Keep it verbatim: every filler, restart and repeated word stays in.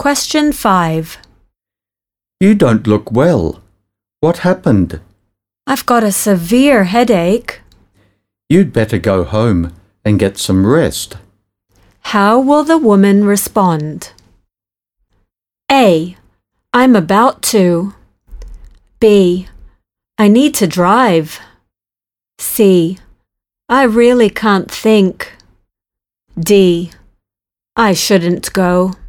Question five. You don't look well. What happened? I've got a severe headache. You'd better go home and get some rest. How will the woman respond? A. I'm about to. B. I need to drive. C. I really can't think. D. I shouldn't go.